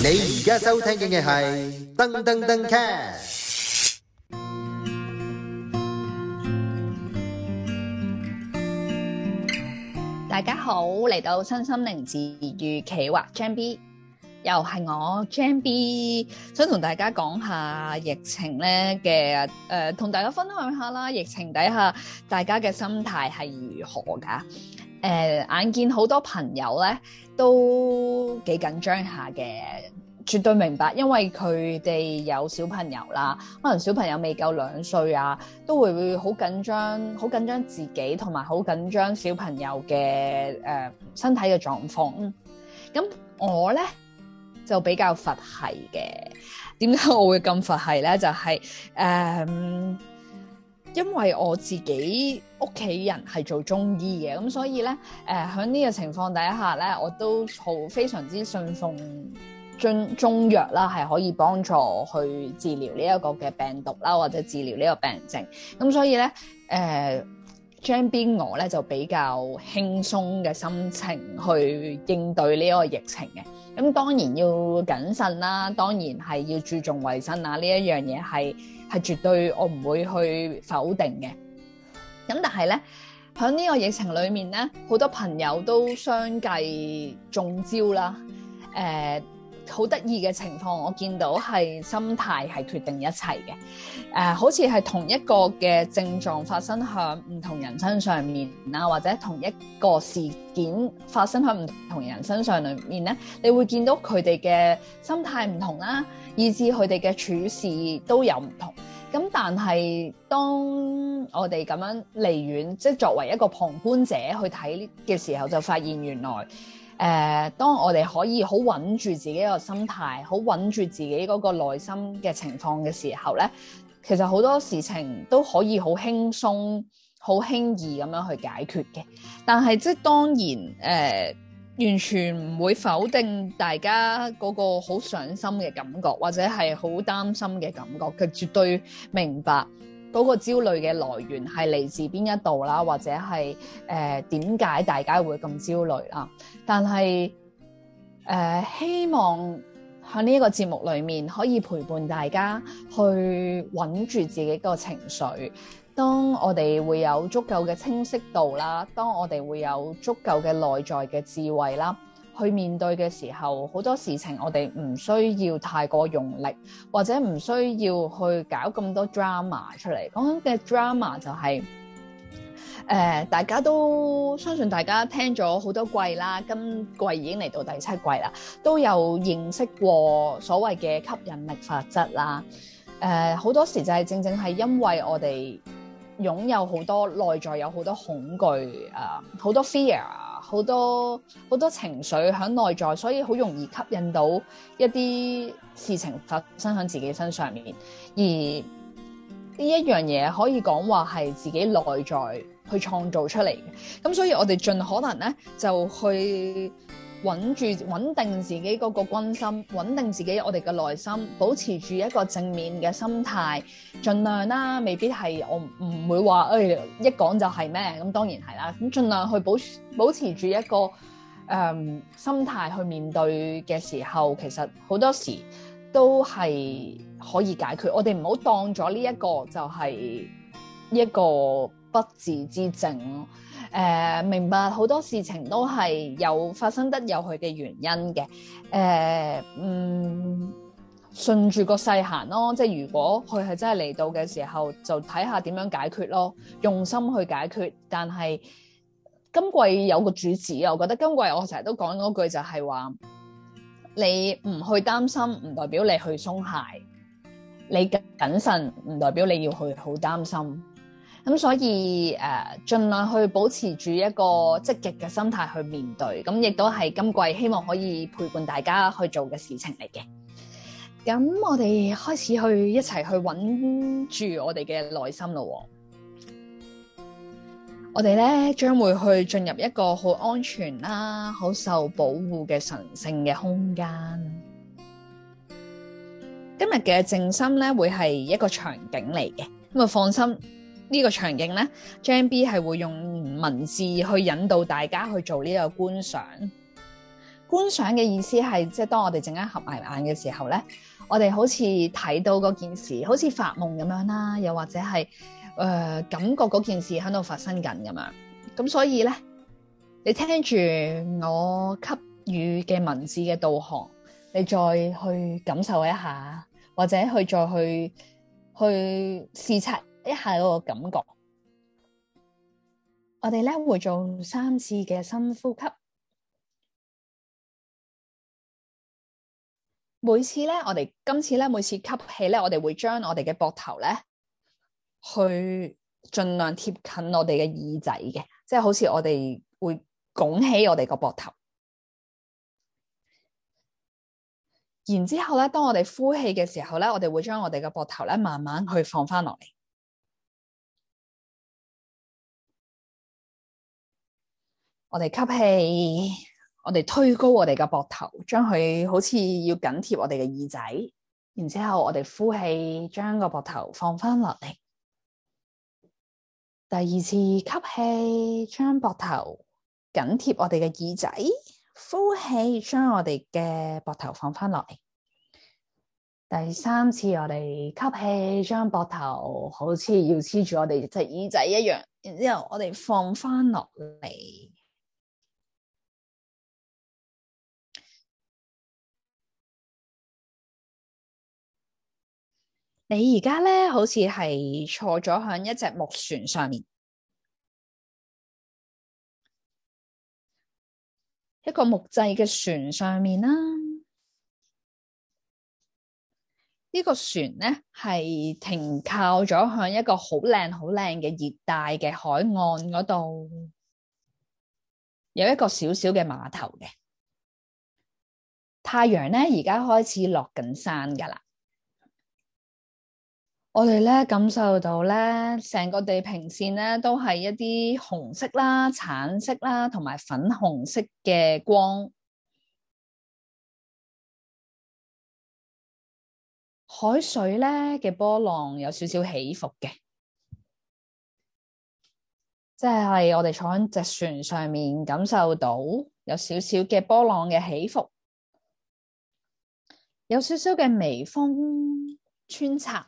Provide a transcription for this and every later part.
你而家收聽嘅係噔噔噔 cast。 大家好，嚟到身心靈治癒企劃 Jam B， 又係我 Jam B， 想同大家講下疫情咧嘅同大家分享下啦。疫情底下大家嘅心態係如何㗎？眼見好多朋友咧都幾緊張下嘅，絕對明白，因為佢哋有小朋友啦，可能小朋友未夠2歲啊，都會好緊張，好緊張自己同埋好緊張小朋友嘅身體嘅狀況。咁我咧就比較佛系嘅。點解我會咁佛系咧？就係因為我自己屋企人係做中醫嘅，咁所以咧喺呢個情況底下咧，我都非常之信奉中藥啦，係可以幫助去治療呢一個嘅病毒啦，或者治療呢個病症。咁所以咧Jam B 我咧就比較輕鬆嘅心情去應對呢個疫情嘅。咁當然要謹慎啦，當然係要注重衛生啊，呢一樣嘢係絕對我唔會去否定嘅。咁但係咧喺呢個疫情裏面咧，好多朋友都相繼中招啦。好得意嘅情況，我見到係心態係決定一切嘅。好似係同一個嘅症狀發生喺唔同人身上面啦，或者同一個事件發生喺唔同人身上裏面咧，你會見到佢哋嘅心態唔同啦，以至佢哋嘅處事都有唔同。咁但係當我哋咁樣離遠，即係作為一個旁觀者去睇嘅時候，就發現原來當我哋可以好穩住自己個心態，好穩住自己嗰個內心嘅情況嘅時候咧，其實好多事情都可以好輕鬆、好輕易咁樣去解決嘅。但係即係當然完全唔會否定大家嗰個好上心嘅感覺，或者係好擔心嘅感覺。佢絕對明白嗰個焦慮嘅來源係嚟自邊一度啦，或者係點解大家會咁焦慮啦。但係希望喺呢一個節目裏面可以陪伴大家去穩住自己個情緒。當我哋會有足夠嘅清晰度啦，當我哋會有足夠嘅內在嘅智慧啦，去面對嘅時候，好多事情我哋唔需要太過用力，或者唔需要去搞咁多 drama 出嚟。講緊嘅 drama 就係大家都相信大家聽咗好多季啦，今季已經嚟到第7季啦，都有認識過所謂嘅吸引力法則啦。好多時就係正正係因為我哋擁有好多內在有好多恐懼好多 fear 好多情緒喺內在，所以好容易吸引到一啲事情發生喺自己身上面。而呢一樣嘢可以講話係自己內在去創造出嚟嘅。咁所以我哋盡可能咧就去穩定自己嗰個軍心，穩定自己我哋嘅內心，保持住一個正面嘅心態，盡量啦，未必係我唔會話一講就係咩，咁當然係啦，咁盡量去保持住一個心態去面對嘅時候，其實好多時都係可以解決。我哋唔好當咗呢一個就係一個不治之症咯。明白好多事情都係有發生得有佢嘅原因嘅。順住個勢行咯，即係如果佢係真係嚟到嘅時候，就睇下點樣解決咯，用心去解決。但係今季有個主旨，我覺得今季我成日都講嗰句就係話，你唔去擔心唔代表你去鬆懈，你謹慎唔代表你要去好擔心。咁所以盡量去保持住一個積極嘅心態去面對，咁亦都係今季希望可以陪伴大家去做嘅事情嚟嘅。咁我哋開始去一齊去穩住我哋嘅內心咯。我哋咧將會去進入一個好安全啦、好受保護嘅神聖嘅空間。今日嘅靜心咧會係一個場景嚟嘅，咁啊放心。呢個場景咧 Jam B 係會用文字去引導大家去做呢個觀觀賞嘅意思係，即係當我哋陣間合埋眼嘅時候咧，我哋好似睇到嗰件事，好似發夢咁樣啦，又或者係感覺嗰件事喺度發生緊咁樣。咁所以咧，你聽住我給予嘅文字嘅導航，你再去感受一下，或者去再去視察一下嗰個感覺。我哋咧會做3次嘅深呼吸。每次咧，我哋今次咧，每次吸氣咧，我哋會將我哋嘅膊頭咧，去盡量貼近我哋嘅耳仔嘅，即係好似我哋會拱起我哋個膊頭。然之後咧，當我哋呼氣嘅時候咧，我哋會將我哋嘅膊頭咧，慢慢去放翻落嚟。我哋吸氣。我哋推高我哋嘅膊頭，將佢好似要緊貼我哋嘅耳仔，然之後我哋呼氣，將個膊頭放翻落嚟。第二次吸氣，將膊頭緊貼我哋嘅耳仔，呼氣，將我哋嘅膊頭放翻落嚟。第三次我哋吸氣，將膊頭好似要黐住我哋隻耳仔一樣，然之後我哋放翻落嚟。你而家咧好似係坐咗響一隻木船上面，一個木製嘅船上面啦。呢個船咧係停靠咗響一個好靚好靚嘅熱帶嘅海岸嗰度，有一個小小嘅碼頭嘅。太陽咧而家開始落緊山噶啦。我哋咧感受到咧，成個地平線咧都係一啲紅色啦、橙色啦，同埋粉紅色嘅光。海水咧嘅波浪有少少起伏嘅，即係我哋坐喺隻船上面感受到有少少嘅波浪嘅起伏，有少少嘅微風穿插。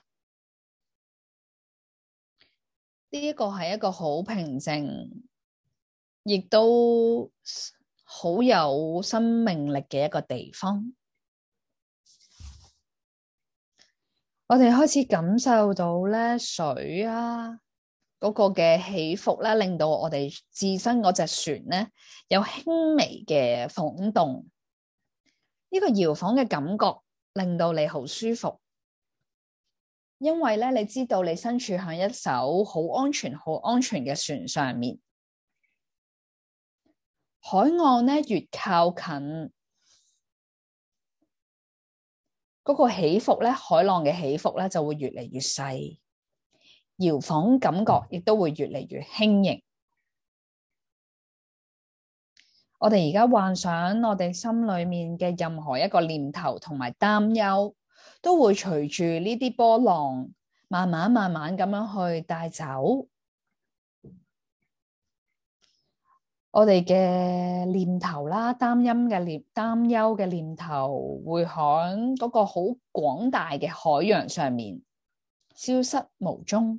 呢個係一個好平靜，亦都好有生命力嘅一個地方。我哋開始感受到咧水啊嗰個嘅起伏咧，令到我哋自身嗰隻船咧有輕微嘅晃動。呢個搖晃嘅感覺令到你好舒服。因為咧，你知道你身處喺一艘好安全、好安全嘅船上面，海岸咧越靠近嗰個起伏咧，海浪嘅起伏咧就會越嚟越細，搖晃感覺亦都會越嚟越輕盈。我哋而家幻想我哋心裏面嘅任何一個念頭同埋擔憂，都會隨住呢啲波浪慢慢咁樣去帶走。我哋嘅念頭啦，擔憂嘅念頭會喺嗰個好廣大嘅海洋上面消失無蹤。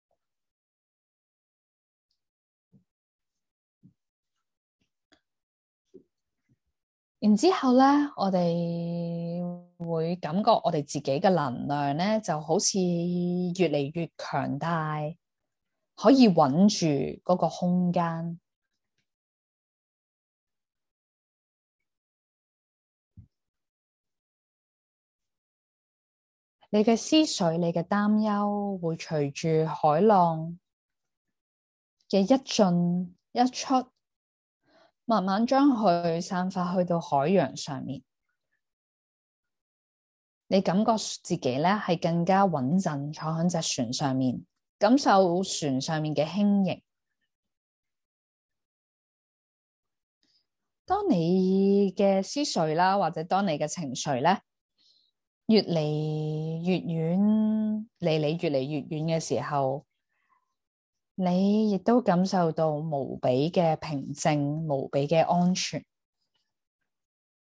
然之後咧，我哋會感覺我哋自己嘅能量咧，就好似越嚟越強大，可以穩住嗰個空間。你嘅思緒、你嘅擔憂會隨住海浪嘅一進一出，慢慢將佢散發去到海洋上面。你感覺自己咧係更加穩陣，坐喺隻船上面，感受船上面嘅輕盈。當你嘅思緒啦，或者當你嘅情緒咧越嚟越遠，離你越嚟越遠嘅時候，你亦都感受到無比嘅平靜，無比嘅安全。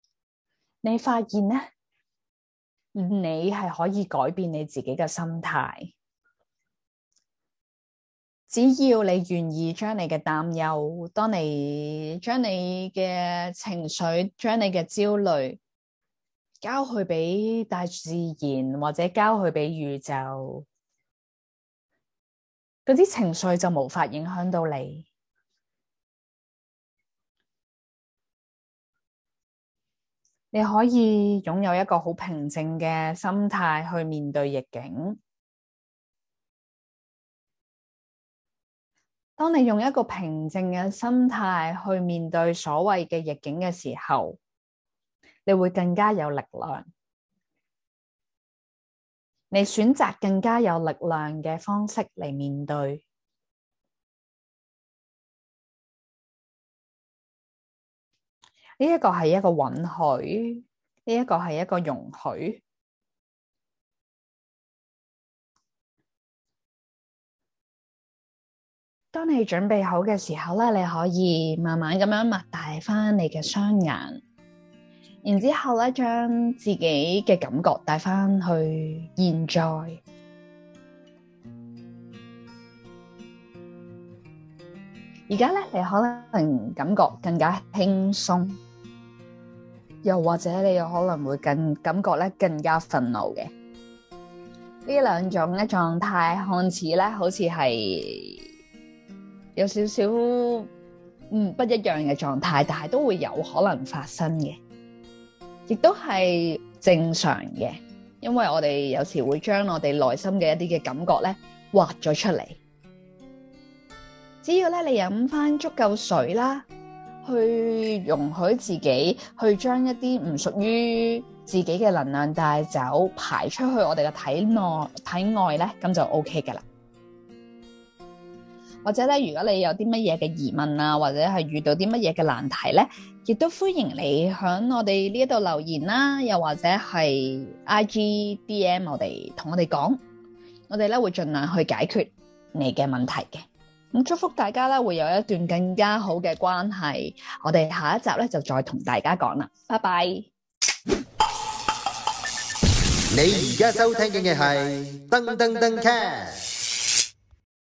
你發現咧，你係可以改變你自己嘅心態。只要你願意將你嘅擔憂，當你將你嘅情緒、將你嘅焦慮交去俾大自然，或者交去俾宇宙，嗰啲情緒就無法影響到你。你可以擁有一個好平靜嘅心態去面對逆境。當你用一個平靜嘅心態去面對所謂嘅逆境嘅時候，你會更加有力量。你選擇更加有力量嘅方式嚟面對。呢一個係一個允許，呢一個係一個容許。當你準備好嘅時候咧，你可以慢慢咁樣擘大翻你嘅雙眼，然之後咧將自己嘅感覺帶翻去現在。而家咧，你可能感覺更加輕鬆，又或者你有可能會感覺咧更加憤怒嘅。呢兩種嘅狀態看似咧好似係有少少不一樣嘅狀態，但係都會有可能發生嘅，亦都係正常嘅，因為我哋有時會將我哋內心嘅一啲嘅感覺咧畫咗出嚟。只要咧你飲翻足夠水啦，去容許自己去將一啲唔屬於自己嘅能量帶走，排出去我哋嘅體外咧，咁就 OK 噶啦。或者咧，如果你有啲乜嘢嘅疑問啊，或者係遇到啲乜嘢嘅難題咧，亦都歡迎你響我哋呢一度留言啦，又或者係 IG DM 同我哋講，我哋咧會盡量去解決你嘅問題嘅。咁祝福大家咧會有一段更加好嘅關係，我哋下一集咧就再同大家講啦，拜拜。 你而家收聽嘅係噔噔噔 cast。